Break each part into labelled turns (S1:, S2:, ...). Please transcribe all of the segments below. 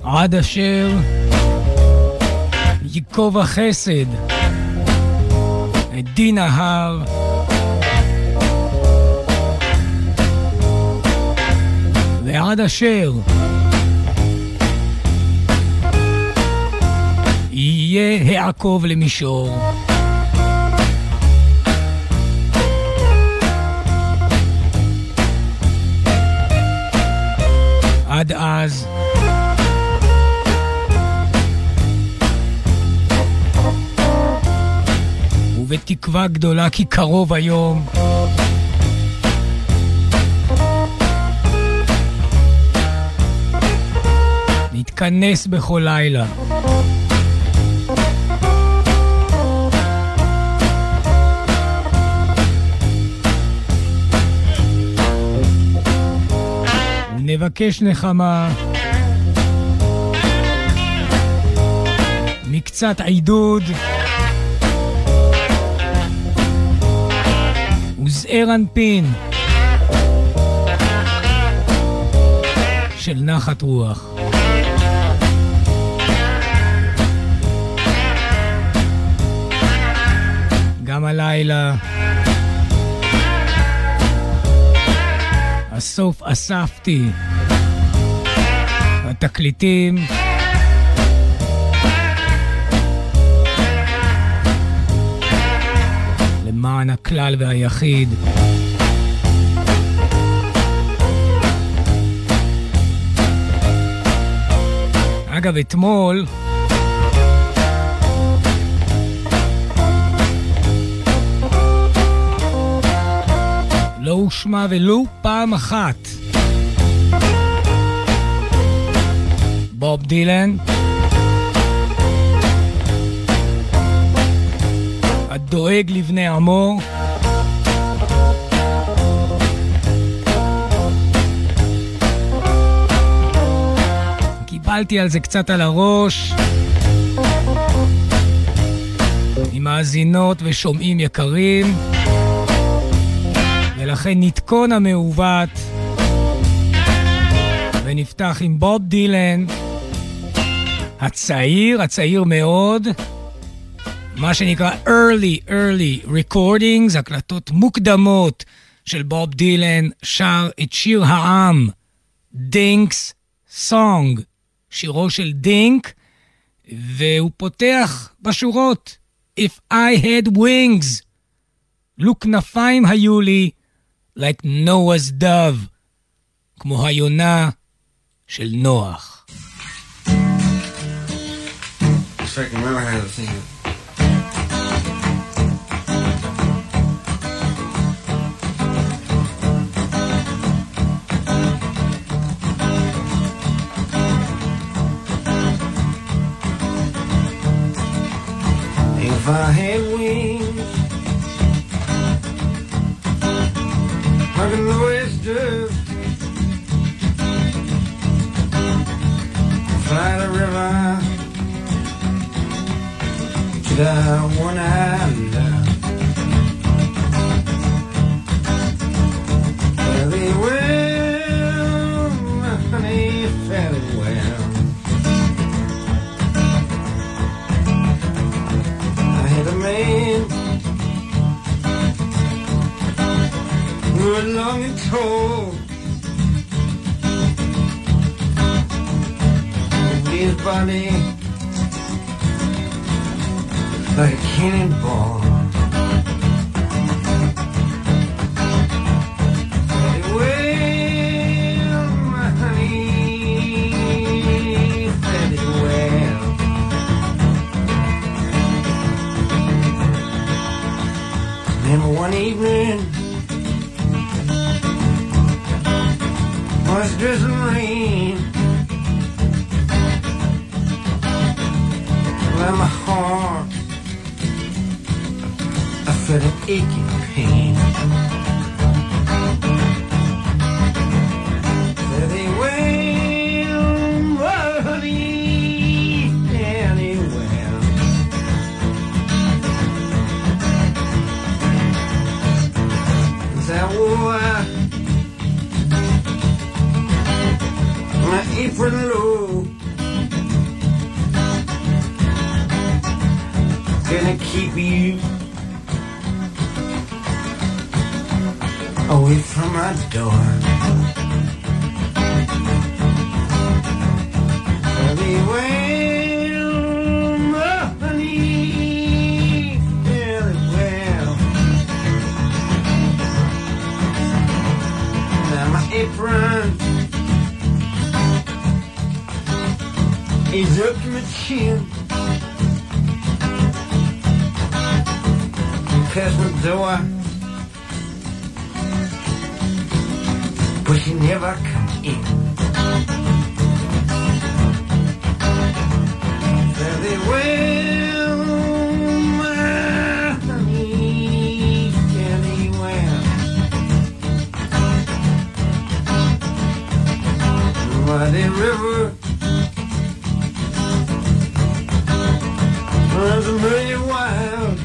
S1: עד אשר ייקוב החסד את דין ההר, ועד אשר יהיה העקוב למישור. עד אז ובתקווה גדולה כי קרוב היום נתכנס בכל לילה ונבקש נחמה מקצת עידוד וזעיר אנפין של נחת רוח. גם הלילה הסוף אספתי התקליטים למען הכלל והיחיד. אגב, אתמול לא הושמע ולו פעם אחת בוב דילן, הדואג לבני עמו, קיבלתי על זה קצת על הראש עם מאזינות ושומעים יקרים, ולכן נתכון המעוות ונפתח עם בוב דילן הצעיר מאוד, מה שנקרא early recordings, הקלטות מוקדמות של בוב דילן, שר את שיר העם דינקס סונג, שירו של דינק, והוא פותח בשורות If I had wings, לו כנפיים היו לי, like Noah's dove, כמו היונה של נוח.
S2: If I can remember how to sing it. If I had wings like a Noah's dove, fly the river to the one I love. Fairly well, my honey, fairly well. I had a man good, long and tall, his body like a cannonball. Very well, my honey, very well. Remember one evening was drizzling rain, well, my heart, I felt an aching pain. Very well, honey, very well. That war, my apron low, keep you away from my door. Very well, my honey, very well. Now my apron is up to my chin. Past my door, but she never come in. Very well, my honey, very well. By the river runs a million wild.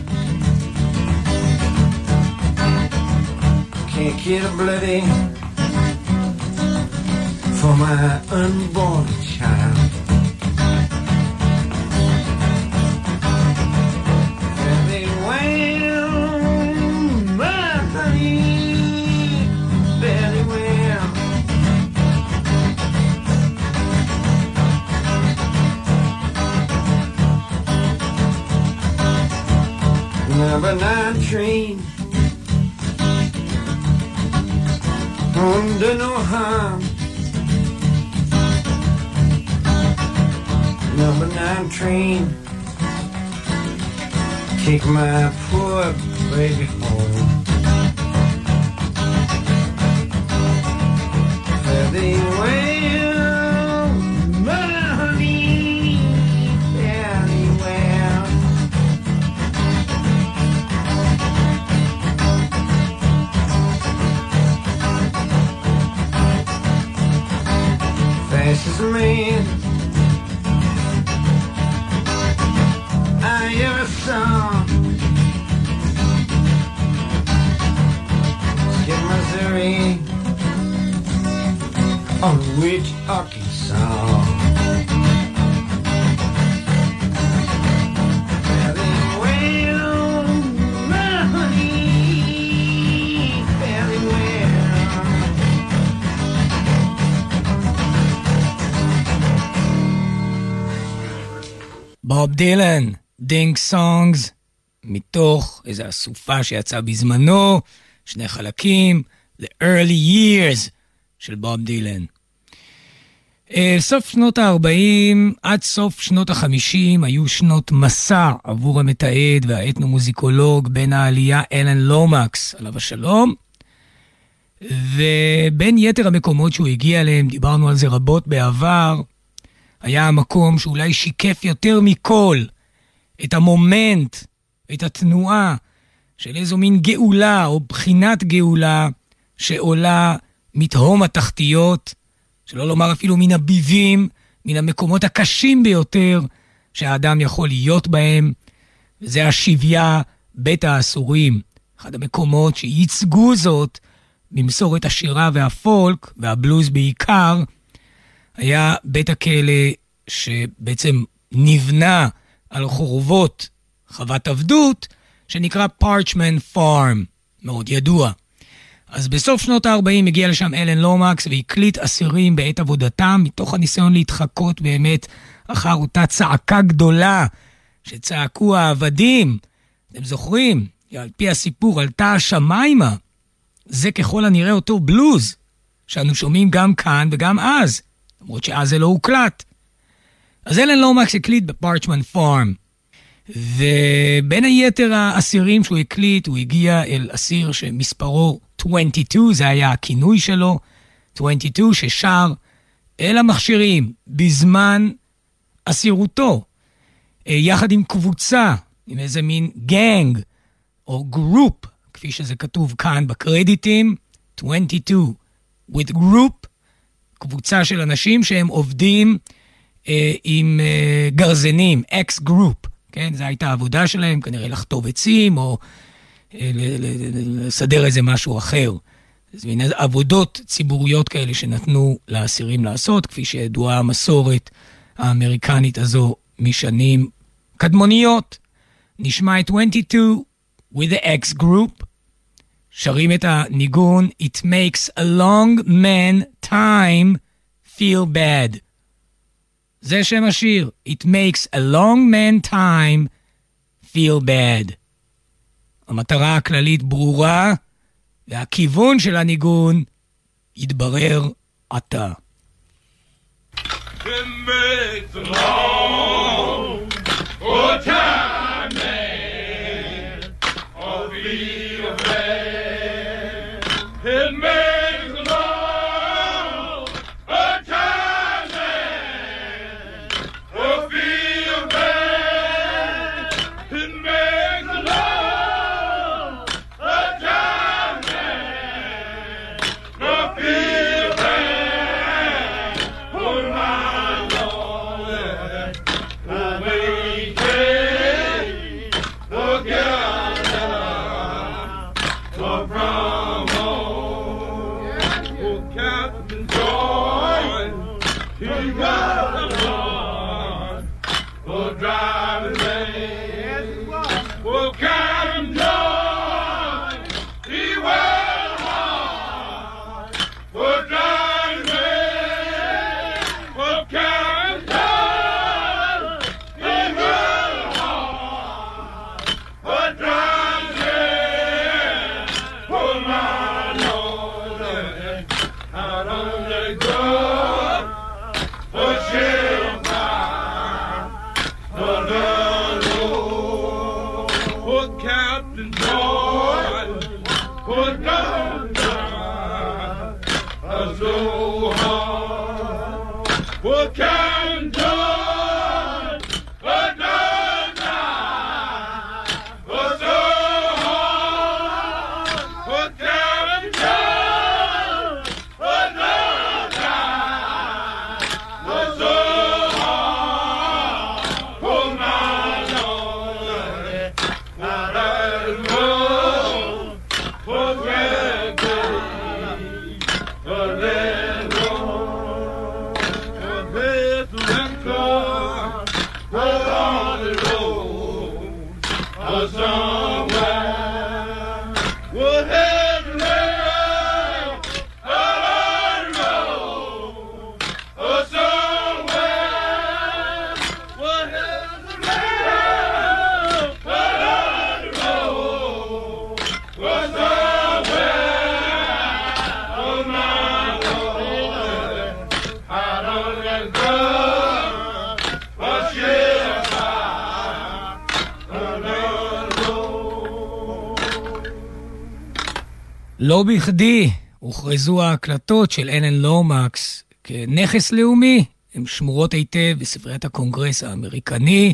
S2: Can't get a bloody for my unborn child. Very well, my honey, very well. Number 9 train under no harm. Number 9 train, take my poor baby home. Very well, my honey, very well. Fastest man I ever saw. Skip Missouri on Rich Arkansas. Very well, my honey, very well.
S1: בוב דילן, דינק סונגס, מתוך איזו אסופה שיצאה בזמנו, 2 חלקים, The Early Years של בוב דילן. סוף שנות ה-40 עד סוף שנות ה-50 היו שנות מסע עבור המתעד והאתנומוזיקולוג בן העלייה אלן לומקס, עליו השלום, ובין יתר המקומות שהוא הגיע אליהם, דיברנו על זה רבות בעבר, היה המקום שאולי שיקף יותר מכל את המומנט, את התנועה של איזו מין גאולה או בחינת גאולה שעולה מתהום התחתיות, שלא לומר אפילו מן הביבים, מן המקומות הקשים ביותר שהאדם יכול להיות בהם, וזה השביה בית האסורים, אחד המקומות שייצגו זאת במסורת השירה והפולק והבלוז בעיקר, היה בית הכלא שבעצם נבנה על חורבות חוות עבדות, שנקרא Parchman Farm, מאוד ידוע. אז בסוף שנות ה-40 הגיע לשם אלן לומקס והקליט אסירים בעת עבודתם, מתוך הניסיון להתחקות באמת אחר אותה צעקה גדולה שצעקו העבדים. אתם זוכרים? על פי הסיפור עלתה השמיימה. זה ככל הנראה אותו בלוז, שאנו שומעים גם כאן וגם אז, למרות שאז זה לא הוקלט. אז אלן לומקס הקליט בפארצ'מן פארם, ובין היתר האסירים שהוא הקליט, הוא הגיע אל אסיר שמספרו 22, זה היה הכינוי שלו, 22 ששר אל המכשירים בזמן אסירותו, יחד עם קבוצה, עם איזה מין גנג או גרופ, כפי שזה כתוב כאן בקרדיטים, 22 with group, קבוצה של אנשים שהם עובדים עם גרזנים, X group, כן? זו הייתה העבודה שלהם, כנראה לחטוב עצים או לסדר איזה משהו אחר. זה מין עבודות ציבוריות כאלה שנתנו לאסירים לעשות, כפי שידועה המסורת האמריקנית הזו משנים קדמוניות. נשמע את 22 with the X group, שרים את הניגון It makes a long man time feel bad. זה שם השיר, It makes a long man time feel bad. המטרה הכללית ברורה, והכיוון של הניגון יתברר עתה.
S3: It makes a long time man feel bad. It makes a long time man feel bad. It makes a long time man feel bad. Oh my Lord, we can't forget from home. Oh, Captain John, he got the Lord for driving late. Oh, Captain John, he went hard for driving late. Oh, Captain John, he went hard for driving late. Oh, my Lord, out on the road for shelter, for the Lord. Oh, Captain John, for doctor, so hard. Oh, Captain John, for doctor, so hard. Oh, Captain John, for doctor, so hard. Oh, my Lord, out of the road for granted, for that road, for this record, for on the road, or somewhere, what has left, on the road, or somewhere, what has left, on the road, or somewhere, oh my Lord, out on that road, for shelter, on the road.
S1: לא בכדי הוכרזו ההקלטות של אלן לומקס כנכס לאומי. הן שמורות היטב בספריית הקונגרס האמריקני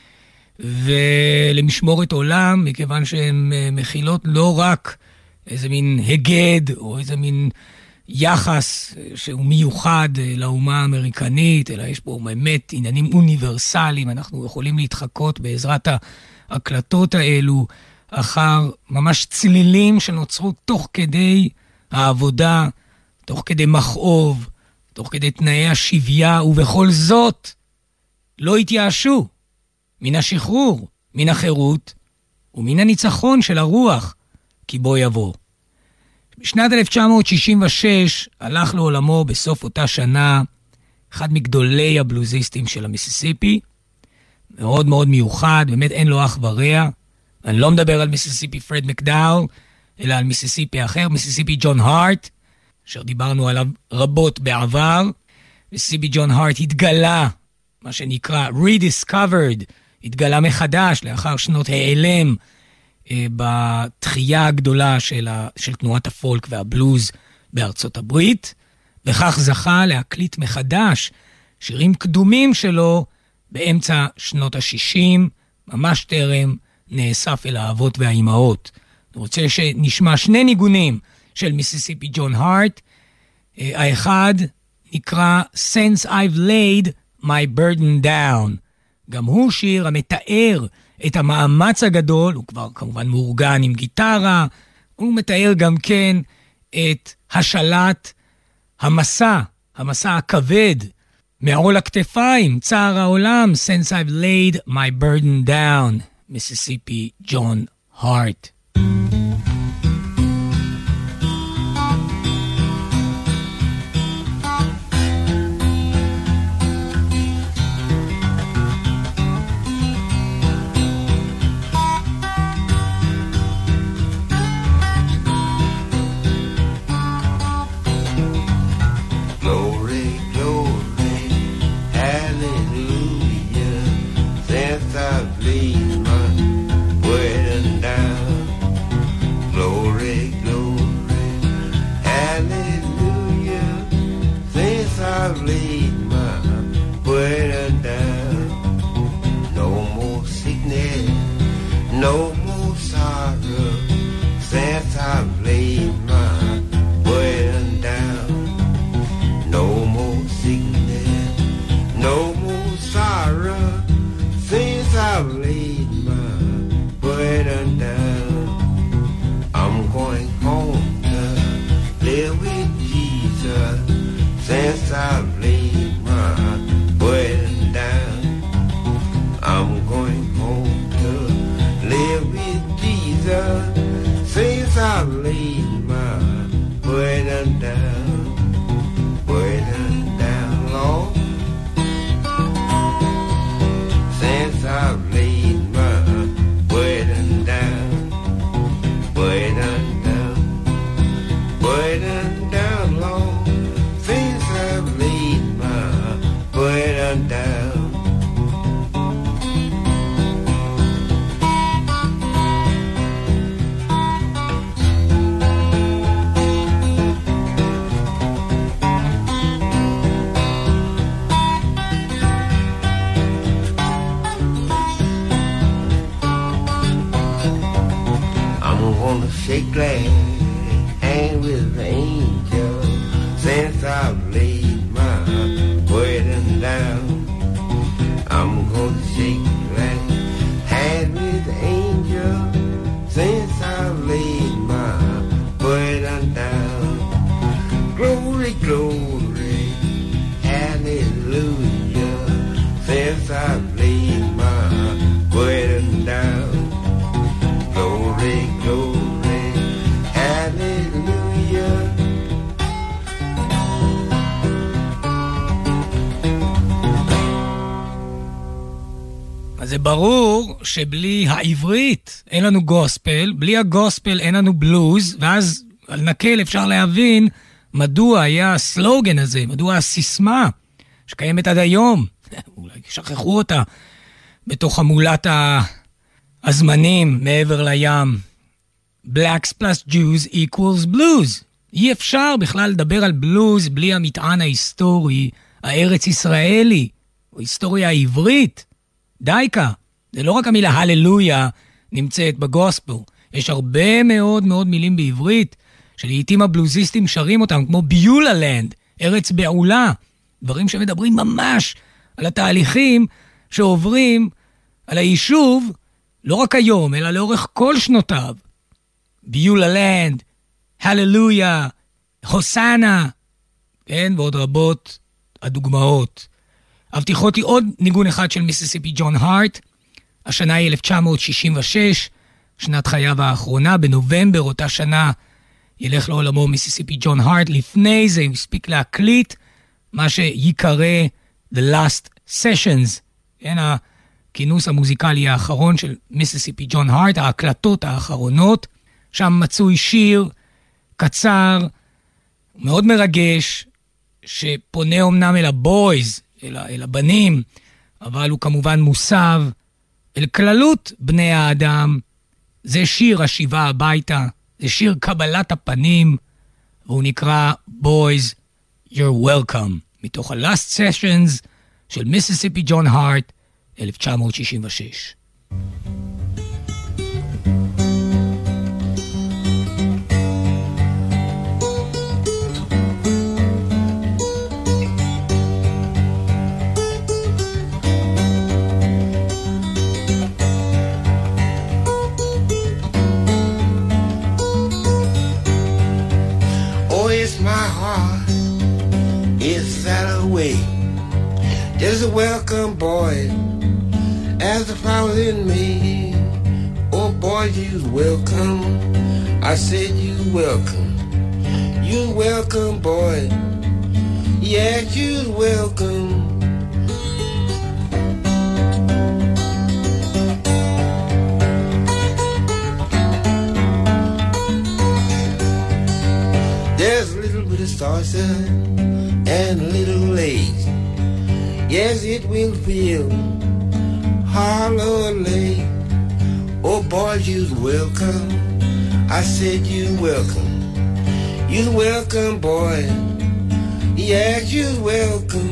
S1: ולמשמורת עולם, מכיוון שהן מכילות לא רק איזה מין הגד או איזה מין יחס שהוא מיוחד לאומה האמריקנית, אלא יש פה באמת עניינים אוניברסליים. אנחנו יכולים להתחקות בעזרת ההקלטות האלו אחר ממש צלילים שנוצרו תוך כדי העבודה, תוך כדי מכאוב, תוך כדי תנאי השביה, ובכל זאת לא התייאשו מן השחרור, מן החירות ומן הניצחון של הרוח, כי בוא יבוא. בשנת 1966 הלך לעולמו בסוף אותה שנה אחד מגדולי הבלוזיסטים של המיסיסיפי, מאוד מאוד מיוחד, באמת אין לו אח ורע. אני לא מדבר על מיסיסיפי פרד מקדאול, אלא על מיסיסיפי אחר, מיסיסיפי ג'ון הארט, אשר דיברנו עליו רבות בעבר. מיסיסיפי ג'ון הארט התגלה, מה שנקרא rediscovered, התגלה מחדש לאחר שנות העלם בתחייה הגדולה של תנועת הפולק והבלוז בארצות הברית, וכך זכה להקליט מחדש שירים קדומים שלו באמצע שנות ה-60, ממש טרם נאסף אל האבות והאימהות. אני רוצה שנשמע שני ניגונים של מיסיסיפי ג'ון הארט. האחד נקרא Since I've laid my burden down. גם הוא שיר המתאר את המאמץ הגדול, הוא כבר כמובן מאורגן עם גיטרה, הוא מתאר גם כן את השלט המסע הכבד, מעול הכתפיים, צער העולם, Since I've laid my burden down. מיסיסיפי ג'ון הארט. זה ברור שבלי העברית אין לנו גוספל, בלי הגוספל אין לנו בלוז, ואז על נקל אפשר להבין מדוע היה הסלוגן הזה, מדוע הסיסמה שקיימת עד היום, אולי שכחו אותה בתוך המולת הזמנים מעבר לים. Blacks plus Jews equals blues. אי אפשר בכלל לדבר על בלוז בלי המטען ההיסטורי, הארץ ישראלי, או היסטוריה העברית. דייקה, זה לא רק המילה הללויה נמצאת בגוספל, יש הרבה מאוד מאוד מילים בעברית, שלעיתים הבלוזיסטים שרים אותם, כמו ביוללנד, ארץ בעולה, דברים שמדברים ממש על התהליכים שעוברים על היישוב, לא רק היום, אלא לאורך כל שנותיו. ביוללנד, הללויה, הוסנה, כן, ועוד רבות הדוגמאות. הבטיחות היא עוד ניגון אחד של מיסיסיפי ג'ון הארט. השנה היא 1966, שנת חייו האחרונה. בנובמבר אותה שנה ילך לעולמו מיסיסיפי ג'ון הארט. לפני זה הוא הספיק להקליט מה שיקרא The Last Sessions, כן, הכינוס המוזיקלי האחרון של מיסיסיפי ג'ון הארט, ההקלטות האחרונות. שם מצוי שיר קצר, מאוד מרגש, שפונה אומנם אל הבויז, אל הבנים, אבל הוא כמובן מוסב אל כללות בני האדם. זה שיר השיבה הביתה, זה שיר קבלת הפנים, והוא נקרא Boys You're Welcome, מתוך ה-Last Sessions של מיסיסיפי ג'ון הארט, 1966.
S4: Just a welcome, boy, as the power in me. boy, you welcome. I said you welcome. You welcome, boy. Yeah, you welcome. There's a little bit of salsa and a little lace. Yes, it will feel hollow late. Oh boy, you're welcome. I said you welcome. You welcome, boy. Yeah, you welcome.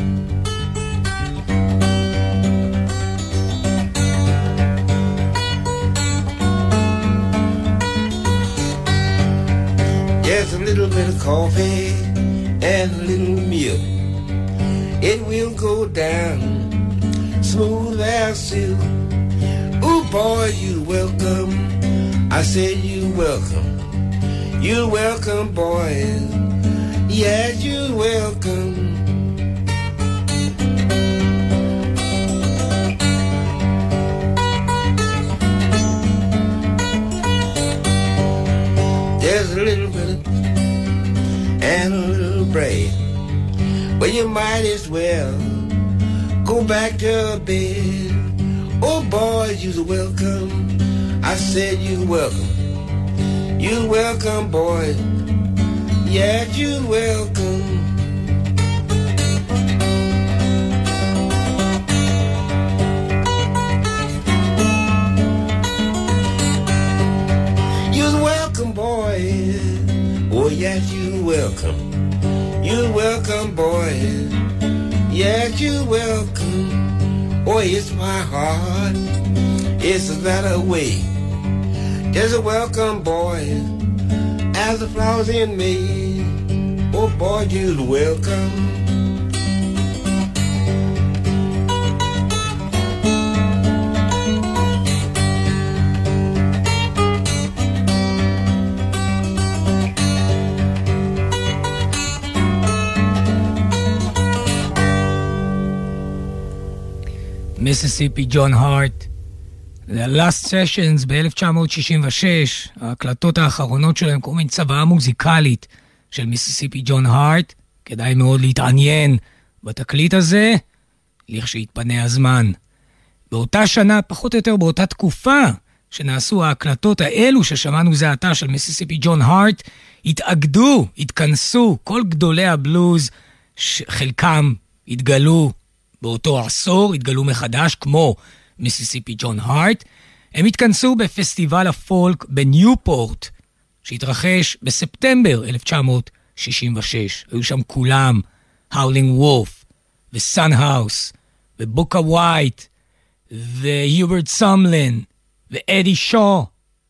S4: There's a little bit of coffee and a little milk. It will go down smooth as silk. Ooh, boy, you welcome. I said you welcome. You welcome, boy. Yeah, you welcome. There's a little bit of and a little bread. Well, you might as well go back to bed. Oh boy, you're welcome. I said you welcome. You welcome, boy. Yeah, you welcome. You're welcome, boy. Oh yes, you welcome. You welcome, boy. Yeah, you welcome. Oh, it's my heart. It's that way. There's a welcome, boy, as the flowers in me. Oh, boy, you're welcome.
S1: מיסיסיפי ג'ון הארט. זה ה-Last Sessions ב-1966, ההקלטות האחרונות שלהם, כל מיני צוואה מוזיקלית של מיסיסיפי ג'ון הארט. כדאי מאוד להתעניין בתקליט הזה, לכשיתפנה הזמן. באותה שנה, פחות או יותר באותה תקופה, שנעשו ההקלטות האלו ששמענו זה עתה של מיסיסיפי ג'ון הארט, התאגדו, התכנסו, כל גדולי הבלוז, חלקם התגלו באותו עשור, התגלו מחדש, כמו מיסיסיפי ג'ון הארט. הם התכנסו בפסטיבל הפולק בניופורט, שהתרחש בספטמבר 1966. היו שם כולם, האולינג וולף, וסאנהאוס, ובוקה ווייט, והיוברט סמלין, ואדי שו.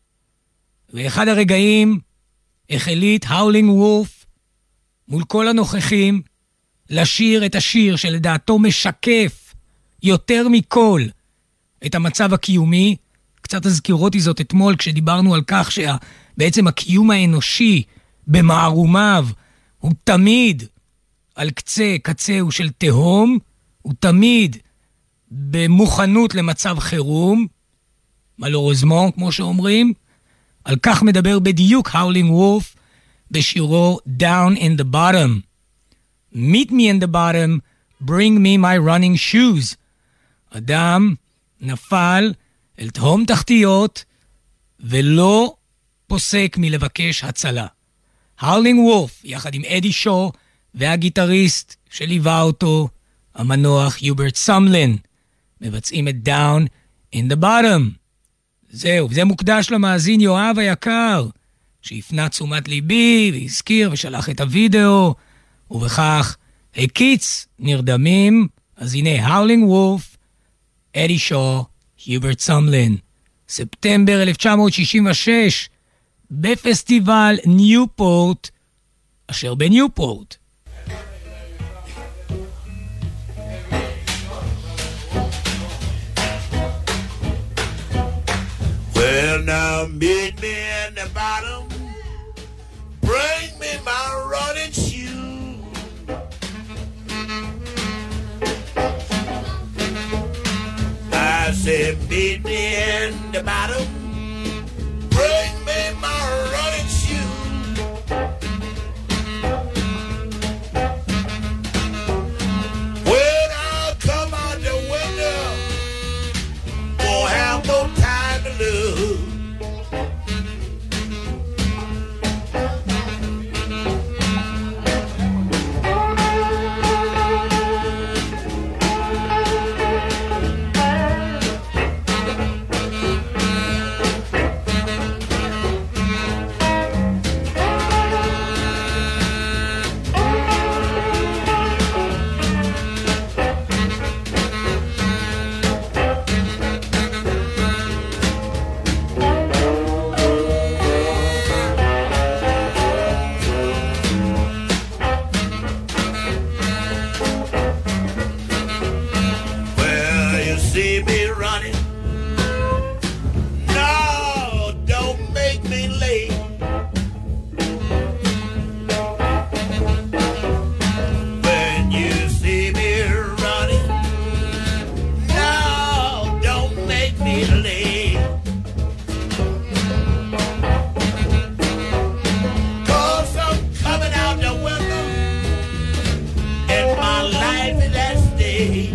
S1: ואחד הרגעים החליט האולינג וולף מול כל הנוכחים לשיר את השיר שלדעתו משקף יותר מכל את המצב הקיומי. קצת הזכירותי זאת אתמול כשדיברנו על כך שבעצם הקיום האנושי במערומיו הוא תמיד על קצהו של תהום, הוא תמיד במוכנות למצב חירום, מלורוזמון כמו שאומרים. על כך מדבר בדיוק האולינג וולף בשירו Down in the Bottom. Meet me in the bottom, bring me my running shoes. אדם נפל אל תהום תחתיות ולא פוסק מלבקש הצלה. האולינג וולף יחד עם אדי שו והגיטריסט שליווה אותו, המנוח יוברט סמלין, מבצעים את Down in the Bottom. זהו, וזה מוקדש למאזין יואב היקר, שהפנה תשומת ליבי והזכיר ושלח את הוידאו, ובכך הקיץ נרדמים. אז הנה האולינג וולף, אדי שו, יוברט סמלין, ספטמבר 1966, בפסטיבל ניופורט, אשר בניופורט.
S4: Well, now meet me in the bottom, bring me my running shoes. I said meet me in the bottom,
S5: see me running, no, don't make me late. When you see me running, no, don't make me late. 'Cause I'm coming out the window, and my life is at stake.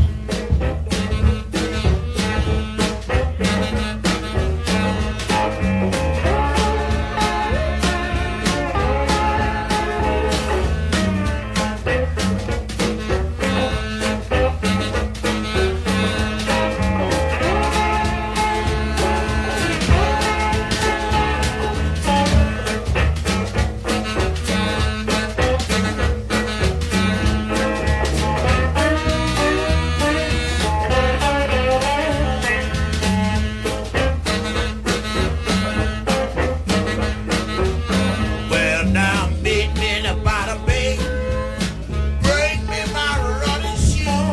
S5: Well, now meet me in the bottom bay. Bring me my running shoe.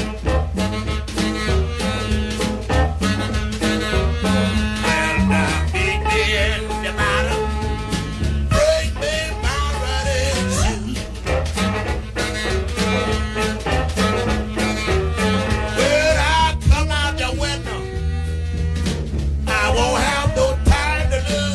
S5: Well, now meet me in the bottom. Bring me my running shoe. When I come out the window, I won't have no time to lose.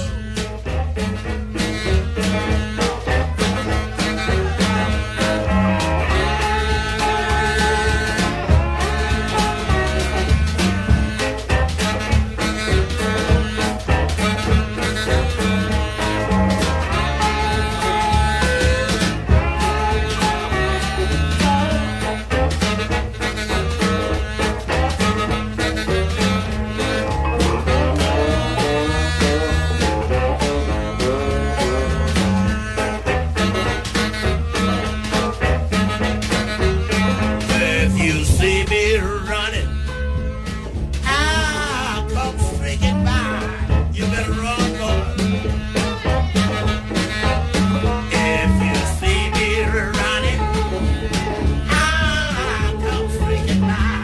S5: If you see me running, I'll come streaking by. You better run, boy. If you see me running, I'll come streaking by.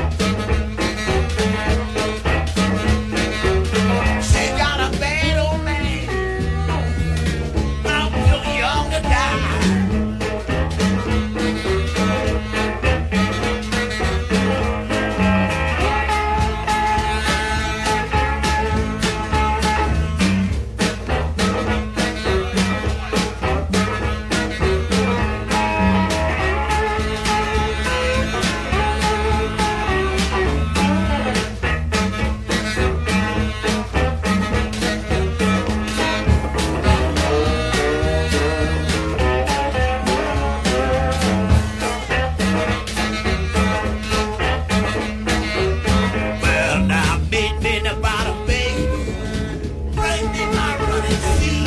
S5: She got a bad old man. I'm too young to die. Well, now meet me in the bottom bay. Bring me my running shoe.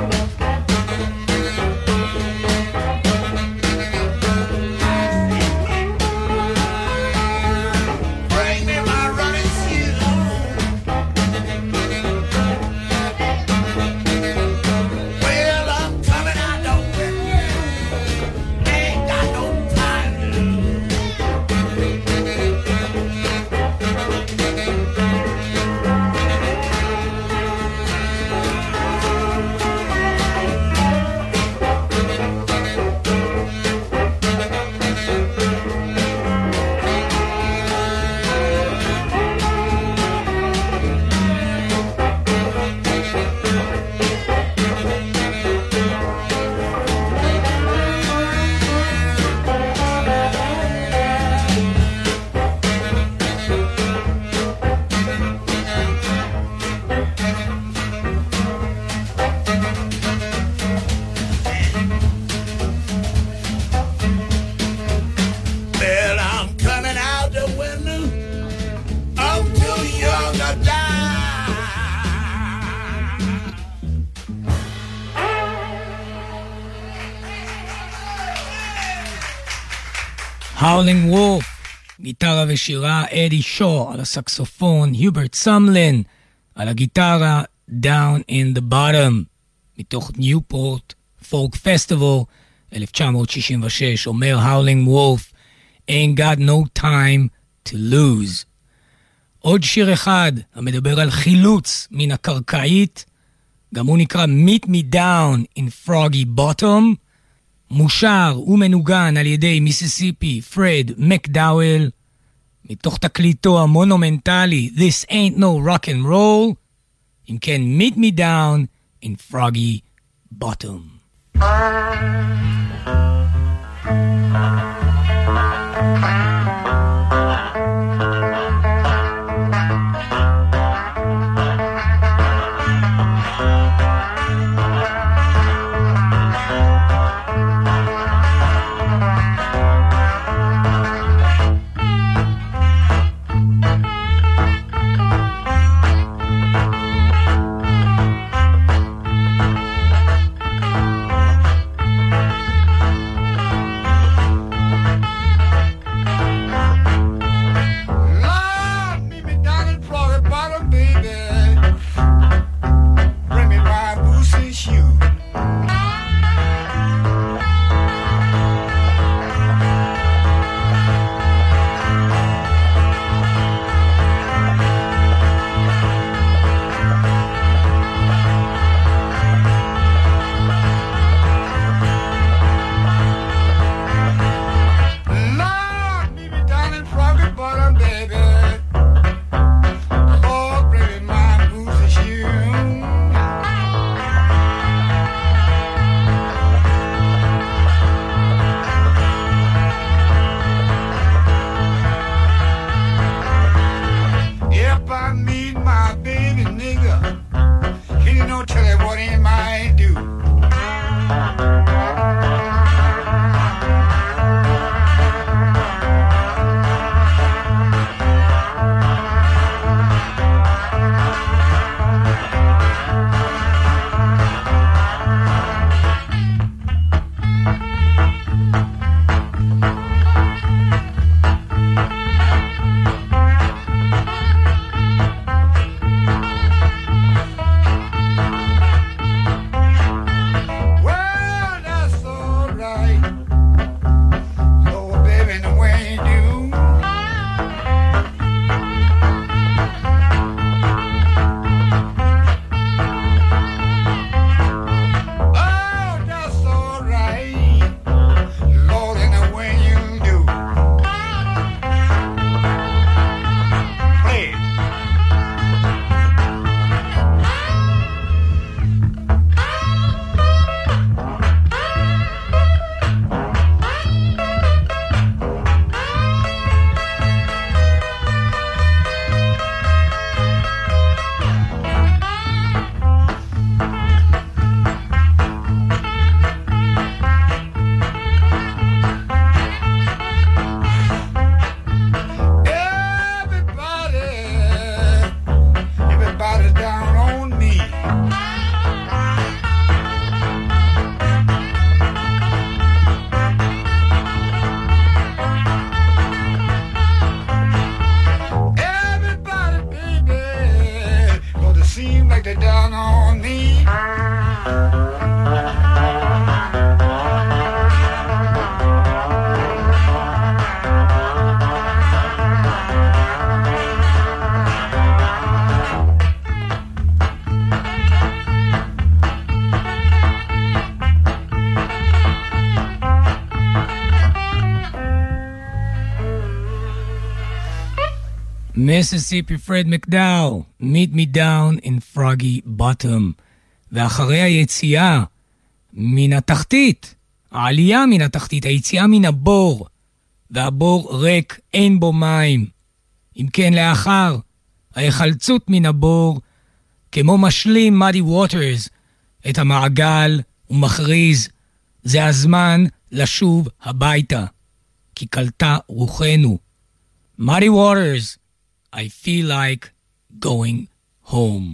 S5: Bring me my running shoe. Well, I'm coming out the window. Ain't got no time to lose. Well, I'm coming out the window. I'm too young to die.
S1: Howling Wolf, גיטרה ושירה, אדי שו על הסקסופון, היוברט סמלין על הגיטרה, Down in the Bottom, מתוך ניופורט פולק פסטיבל 1966, אומר Howling Wolf, Ain't got no time to lose. עוד שיר אחד המדבר על חילוץ מן הקרקעית, גם הוא נקרא Meet Me Down in Froggy Bottom, מושר ומנוגן על ידי מיסיסיפי פרד מקדאוול, מתוך תקליטו המונומנטלי This Ain't No Rock and Roll, אם כן Meet Me Down in Froggy Bottom. מיסיסיפי פרד מקדאו, Meet Me Down in Froggy Bottom. ואחרי היציאה מן התחתית, העלייה מן התחתית, היציאה מן הבור, והבור ריק, אין בו מים. אם כן, לאחר ההחלצות מן הבור, כמו משלים מאדי ווטרס את המעגל ומכריז, זה הזמן לשוב הביתה, כי קלטה רוחנו. מאדי ווטרס, I feel like going home.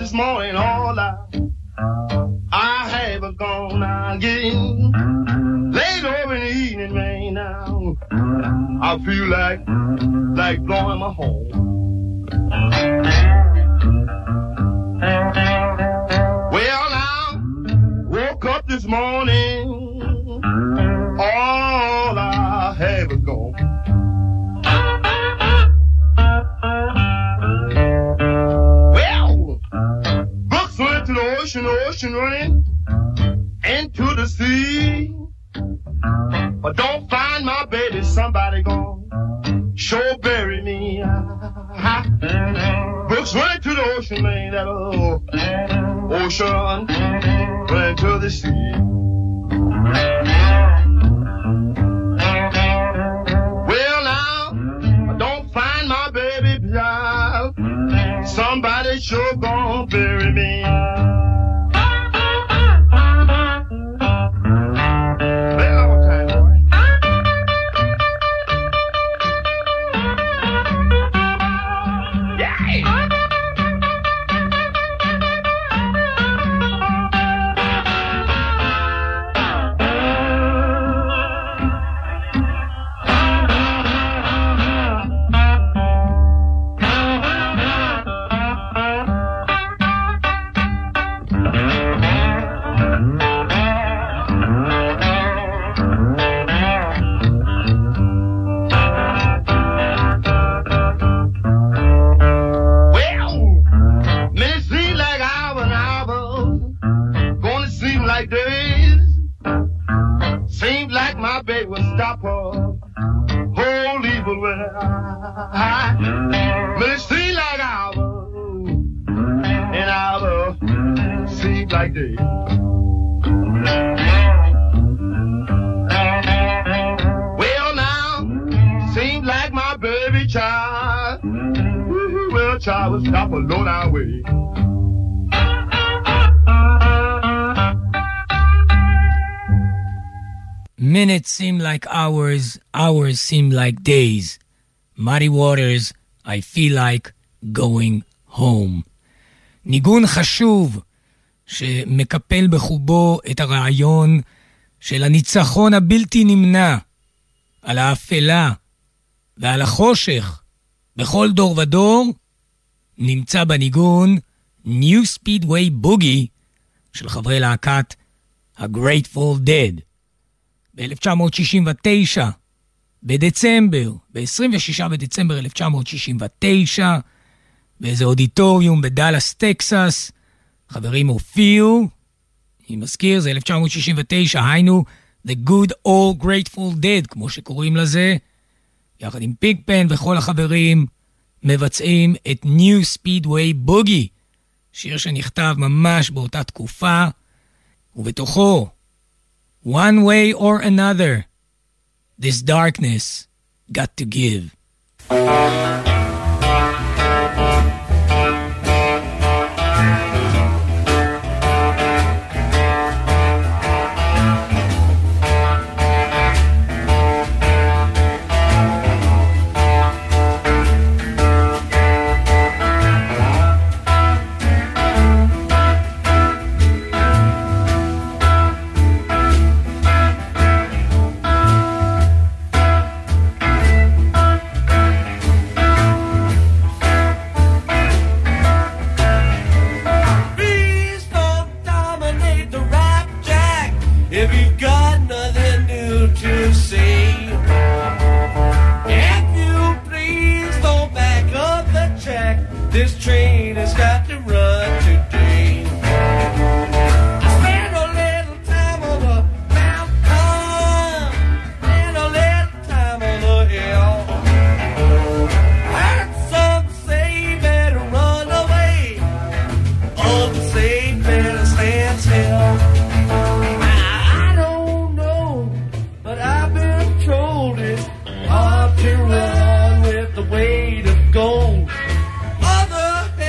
S3: this morning, all I have is gone. I'm getting late over in the evening, man. Now I feel like blowing my horn. Well, now woke up this morning, all I have is gone. The ocean running into the sea. But don't find my baby, somebody gon' sure bury me. Brooks running to the ocean, man, that ocean running to the sea. Well, now, don't find my baby, child. Somebody sure gon' bury me. Stop alone our way.
S1: Minutes seem like hours, hours seem like days. Muddy Waters, I feel like going home. ניגון חשוב שמקפל בחובו את הרעיון של הניצחון הבלתי נמנע על האפלה ועל החושך בכל דור ודור, נמצא בניגון New Speedway Boogie של חברי להקת ה-Grateful Dead. ב-1969, בדצמבר, ב-26 בדצמבר 1969, באיזה אודיטוריום בדלס, טקסס, חברים הופיעו, אני מזכיר, זה 1969, היינו The Good Old Grateful Dead, כמו שקוראים לזה, יחד עם פיגפן וכל החברים, מבצעים את New Speedway Boogie, שיר שנכתב ממש באותה תקופה, ובתוכו, One way or another, this darkness got to give.
S6: To run with the weight of gold. Mother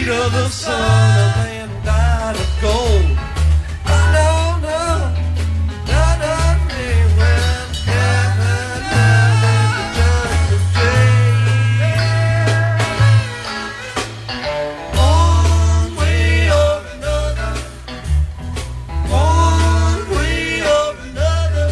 S6: feet of the sun, a man died of gold. No, no, no, no, me when heaven and the judgment day. One way or another, one way or another,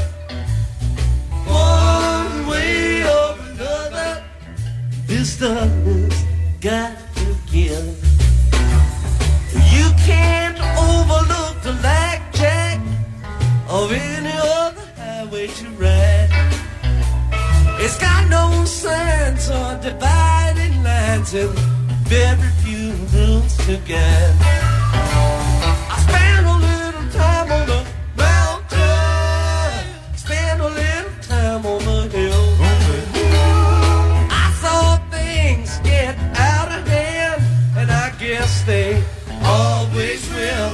S6: one way or another, this darkness got to give. You can't overlook the blackjack of any other highway to ride. It's got no signs or dividing lines and very few rules to guide. I spent a little time on the mountain, spent a little time on the hill. I saw things get out of hand, and I guess they always will.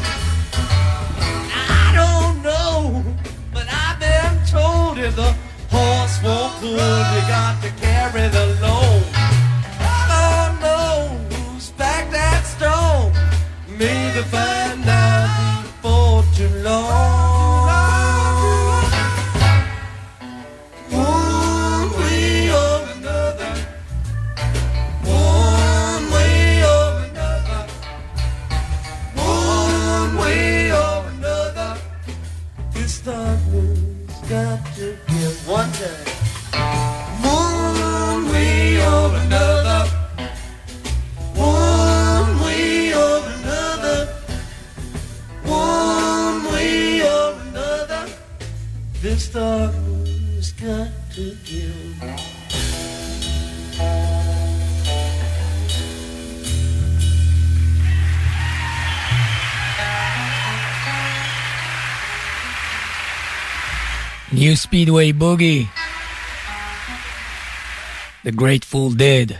S6: I don't know, but I've been told if the horse won't pull, you got to carry the load. I don't know who's back that stone. Maybe find out before too long. One way or another, one way or another, one way or another, this darkness got to give one time. One way or another, one way or another, one way or another, this darkness got to give.
S1: New Speedway Boogie, The Grateful Dead,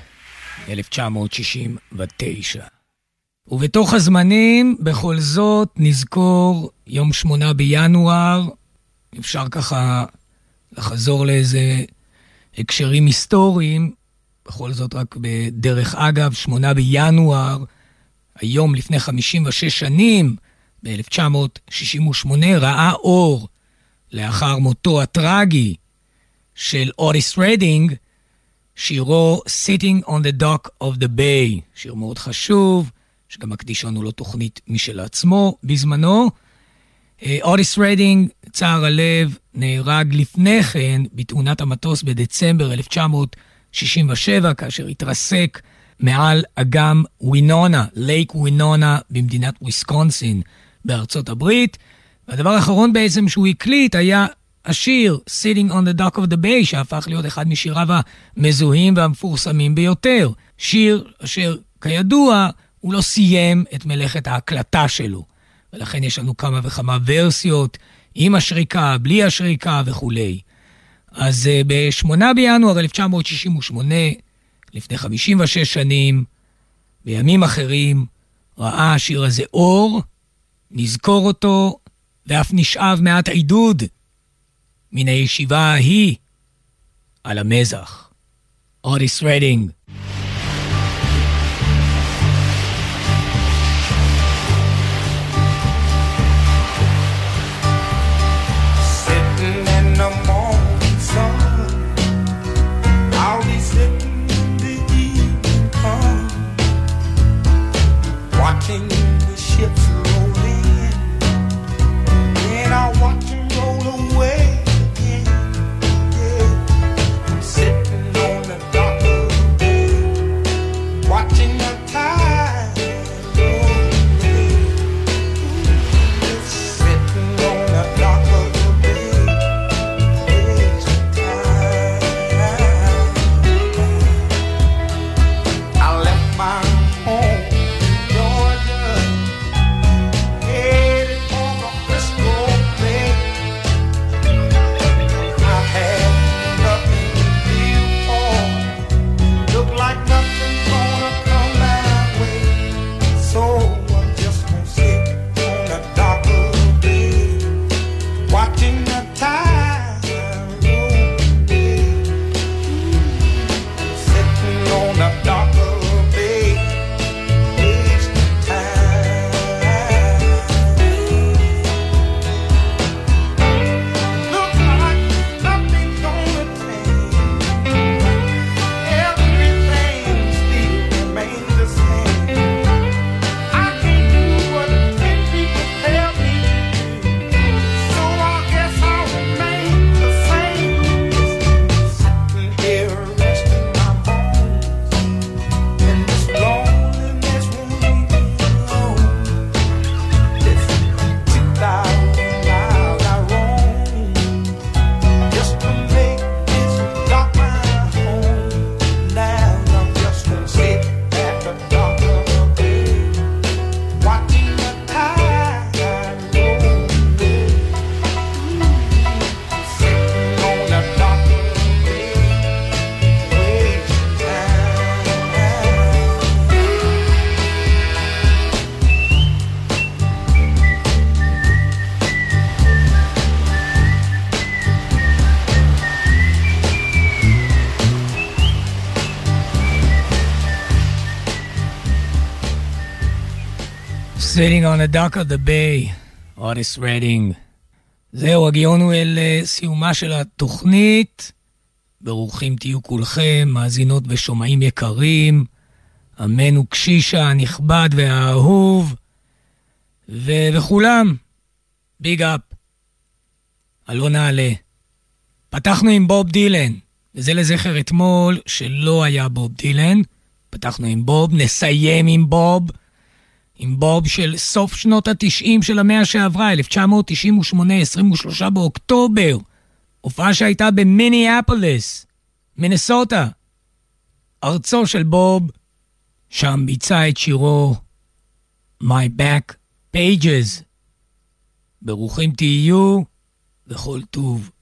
S1: 1969. ובתוך הזמנים, בכל זאת, נזכור יום 8 בינואר, אפשר ככה לחזור לאיזה הקשרים היסטוריים, בכל זאת רק בדרך אגב, 8 בינואר, היום לפני 56 שנים, ב-1968, ראה אור, לאחר מותו הטרגי של אוטיס רדינג, שירו Sitting on the Dock of the Bay, שיר מאוד חשוב, שגם מקדיש לנו לו תוכנית משל עצמו בזמנו. אוטיס רדינג, צער הלב, נהרג לפני כן בתאונת המטוס בדצמבר 1967, כאשר התרסק מעל אגם ווינונה, לייק ווינונה, במדינת וויסקונסין בארצות הברית. והדבר האחרון בעצם שהוא הקליט היה השיר Sitting on the Dock of the Bay, שהפך להיות אחד משיריו המזוהים והמפורסמים ביותר. שיר אשר כידוע הוא לא סיים את מלאכת ההקלטה שלו, ולכן יש לנו כמה וכמה ורסיות, עם השריקה, בלי השריקה וכו'. אז ב-8 בינואר 1968, לפני 56 שנים, בימים אחרים, ראה השיר הזה אור, נזכור אותו, ואף נשאב מעט עידוד מן הישיבה ההיא על המזח. אוטיס רדינג.
S5: Sitting in the morning sun, I'll be sitting the evening come, watching the ships roll in, and I'll watch them roll away again. Yeah. I'm sitting on the dock of the bay.
S1: Sitting on the dock of the bay, Otis Redding. זהו, הגיענו אל סיומה של התוכנית. ברוכים תהיו כולכם, מאזינות ושומעים יקרים. אמנו קשישה הנכבד והאהוב. וכולם, ביג אפ. אלו נעלה. פתחנו עם בוב דילן, וזה לזכר אתמול שלא היה בוב דילן. פתחנו עם בוב, נסיים עם בוב של סוף שנות ה-90 של המאה שעברה, 1998, 23 באוקטובר. הופעה שהייתה במיניאפוליס, מינסוטה. ארצו של בוב, שם ביצע את שירו My Back Pages. ברוכים תהיו וכל טוב.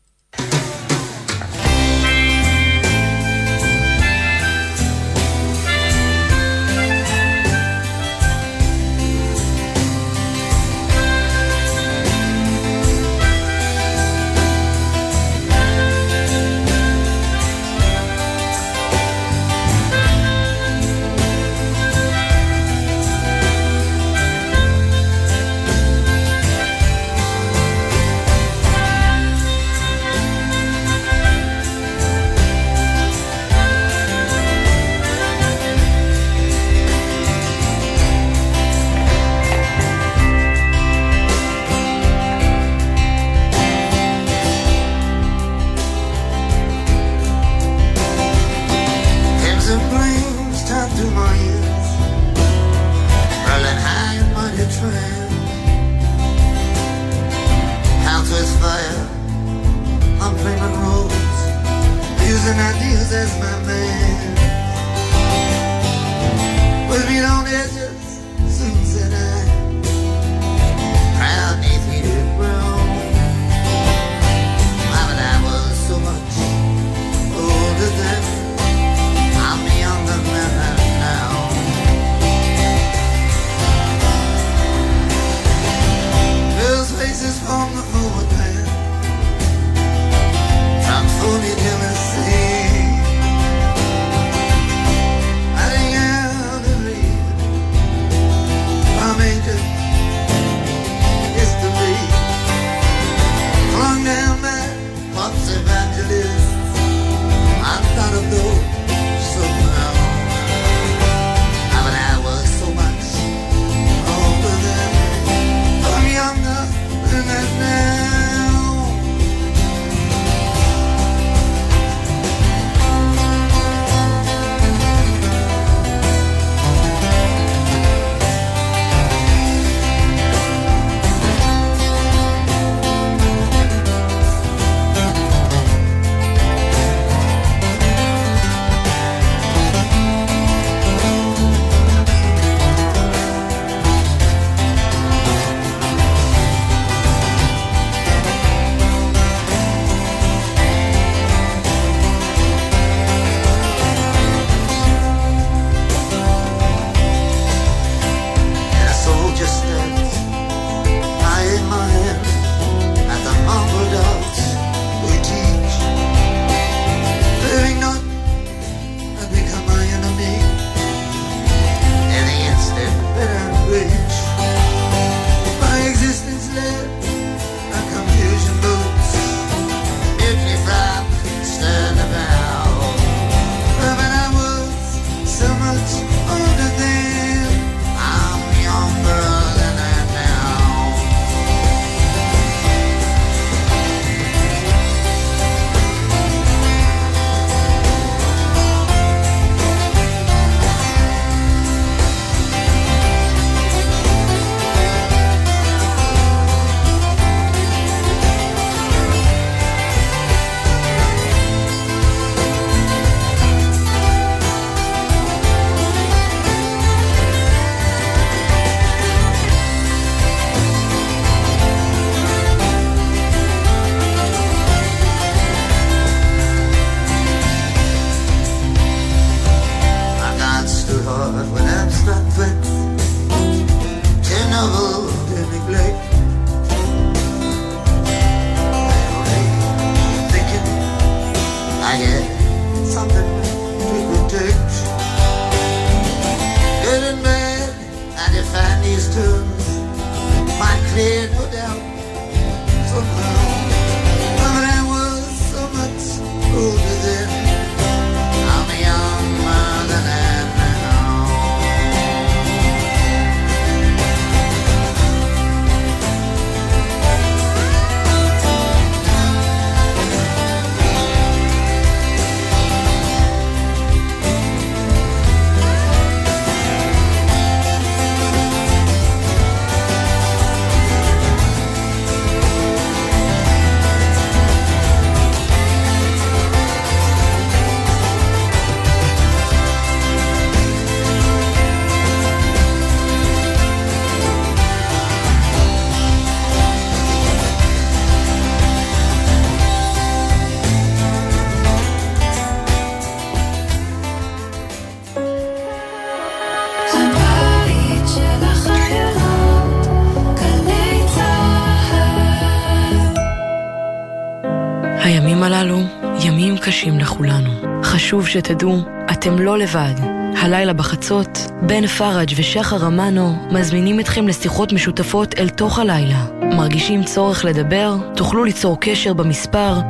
S7: הימים הללו ימים קשים לכולנו. חשוב שתדעו, אתם לא לבד. הלילה בחצות, בן פרג' ושחר אמנו מזמינים אתכם לשיחות משותפות אל תוך הלילה. מרגישים צורך לדבר? תוכלו ליצור קשר במספר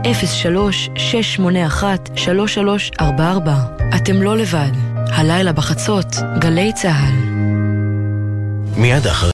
S7: 03-681-3344. אתם לא לבד. הלילה בחצות, גלי צהל.
S8: מיד אחרי